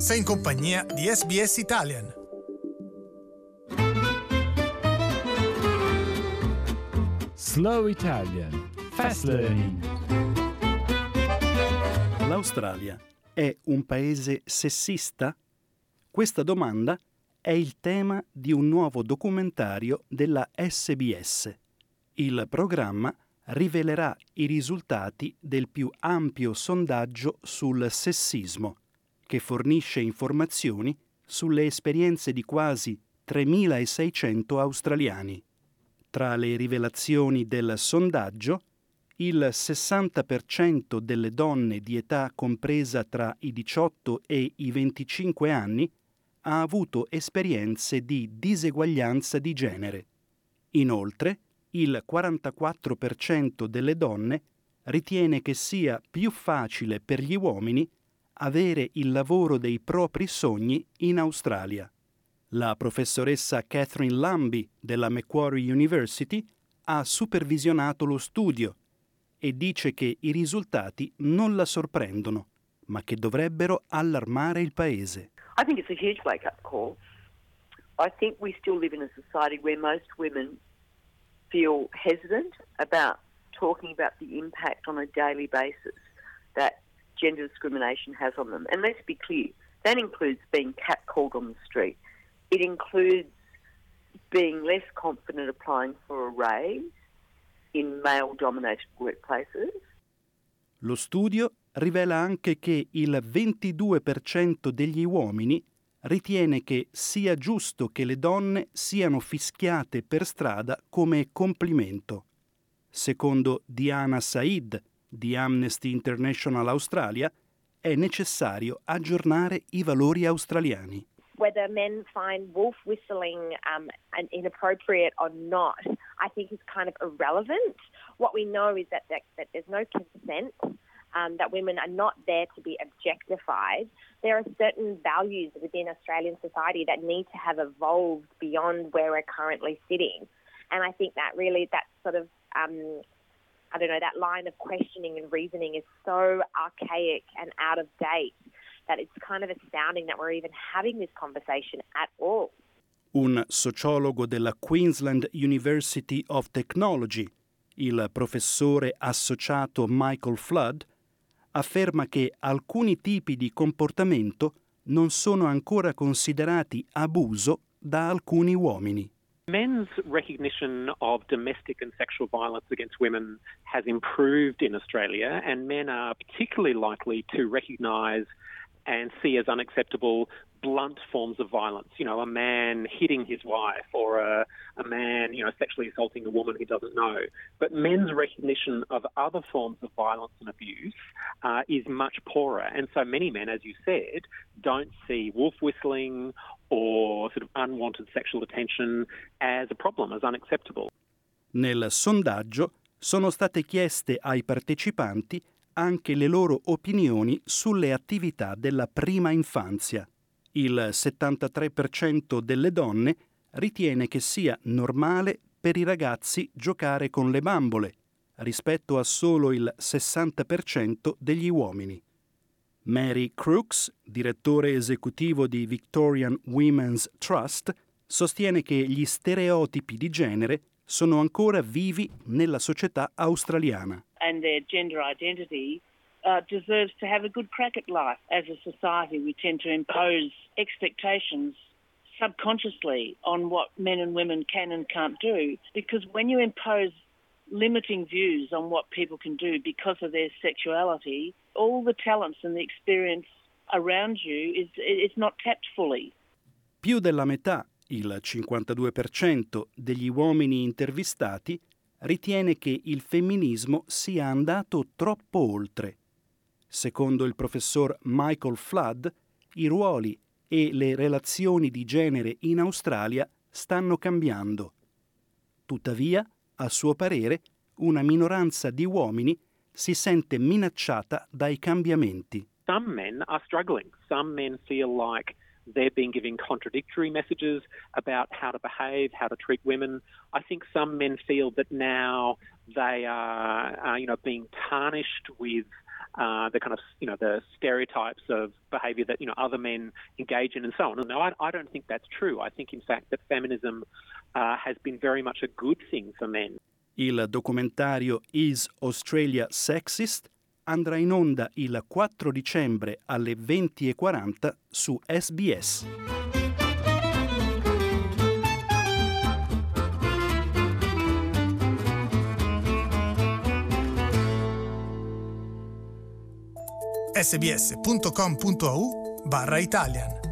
Sei in compagnia di SBS Italian. Slow Italian. Fast Learning. L'Australia è un paese sessista? Questa domanda è il tema di un nuovo documentario della SBS. Il programma rivelerà i risultati del più ampio sondaggio sul sessismo, che fornisce informazioni sulle esperienze di quasi 3.600 australiani. Tra le rivelazioni del sondaggio, il 60% delle donne di età compresa tra i 18 e i 25 anni ha avuto esperienze di diseguaglianza di genere. Inoltre, il 44% delle donne ritiene che sia più facile per gli uomini avere il lavoro dei propri sogni in Australia. La professoressa Catherine Lambie della Macquarie University ha supervisionato lo studio e dice che i risultati non la sorprendono, ma che dovrebbero allarmare il paese. I think it's a huge wake-up call. I think we still live in a society where most women feel hesitant about talking about the impact on a daily basis that gender discrimination has on them. And let's be clear, that includes being catcalled on the street. It includes being less confident applying for a raise in male-dominated workplaces. Lo studio rivela anche che il 22% degli uomini ritiene che sia giusto che le donne siano fischiate per strada come complimento. Secondo Diana Said di Amnesty International Australia, è necessario aggiornare i valori australiani. Whether men find wolf whistling inappropriate or not, I think is kind of irrelevant. What we know is that there's no consent, that women are not there to be objectified. There are certain values within Australian society that need to have evolved beyond where we're currently sitting. And I think that really that sort of, that line of questioning and reasoning is so archaic and out of date that it's kind of astounding that we're even having this conversation at all. Un sociologo della Queensland University of Technology, il professore associato Michael Flood, afferma che alcuni tipi di comportamento non sono ancora considerati abuso da alcuni uomini. Men's recognition of domestic and sexual violence against women has improved in Australia, and men are particularly likely to recognise and see as unacceptable blunt forms of violence. You know, a man hitting his wife or a man, sexually assaulting a woman he doesn't know. But men's recognition of other forms of violence and abuse is much poorer. And so many men, as you said, don't see wolf whistling or sort of unwanted sexual attention as a problem, as unacceptable. Nel sondaggio sono state chieste ai partecipanti anche le loro opinioni sulle attività della prima infanzia. Il 73% delle donne ritiene che sia normale per i ragazzi giocare con le bambole, rispetto a solo il 60% degli uomini. Mary Crooks, direttore esecutivo di Victorian Women's Trust, sostiene che gli stereotipi di genere sono ancora vivi nella società australiana. And their gender identity deserves to have a good crack at life. As a society, we tend to impose expectations subconsciously on what men and women can and can't do, because when you impose limiting views on what people can do because of their sexuality, all the talents and the experience around you is not tapped fully. Più della metà, il 52% degli uomini intervistati, ritiene che il femminismo sia andato troppo oltre. Secondo il professor Michael Flood, i ruoli e le relazioni di genere in Australia stanno cambiando. Tuttavia, a suo parere, una minoranza di uomini si sente minacciata dai cambiamenti. Some men are struggling. Some men feel like they're being given contradictory messages about how to behave, how to treat women. I think some men feel that now they are being tarnished with the kind of, the stereotypes of behaviour that, other men engage in and so on. No, I don't think that's true. I think, in fact, that feminism has been very much a good thing for men. Il documentario Is Australia Sexist andrà in onda il 4 dicembre alle 20:40 su SBS. sbs.com.au/Italian